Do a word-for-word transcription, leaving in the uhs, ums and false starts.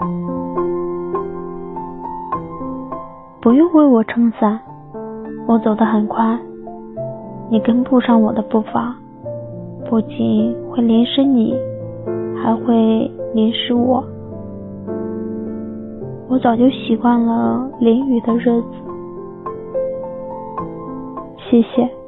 不用为我撑伞，我走得很快，你跟不上我的步伐，不仅会淋湿你，还会淋湿我。我早就习惯了淋雨的日子。谢谢。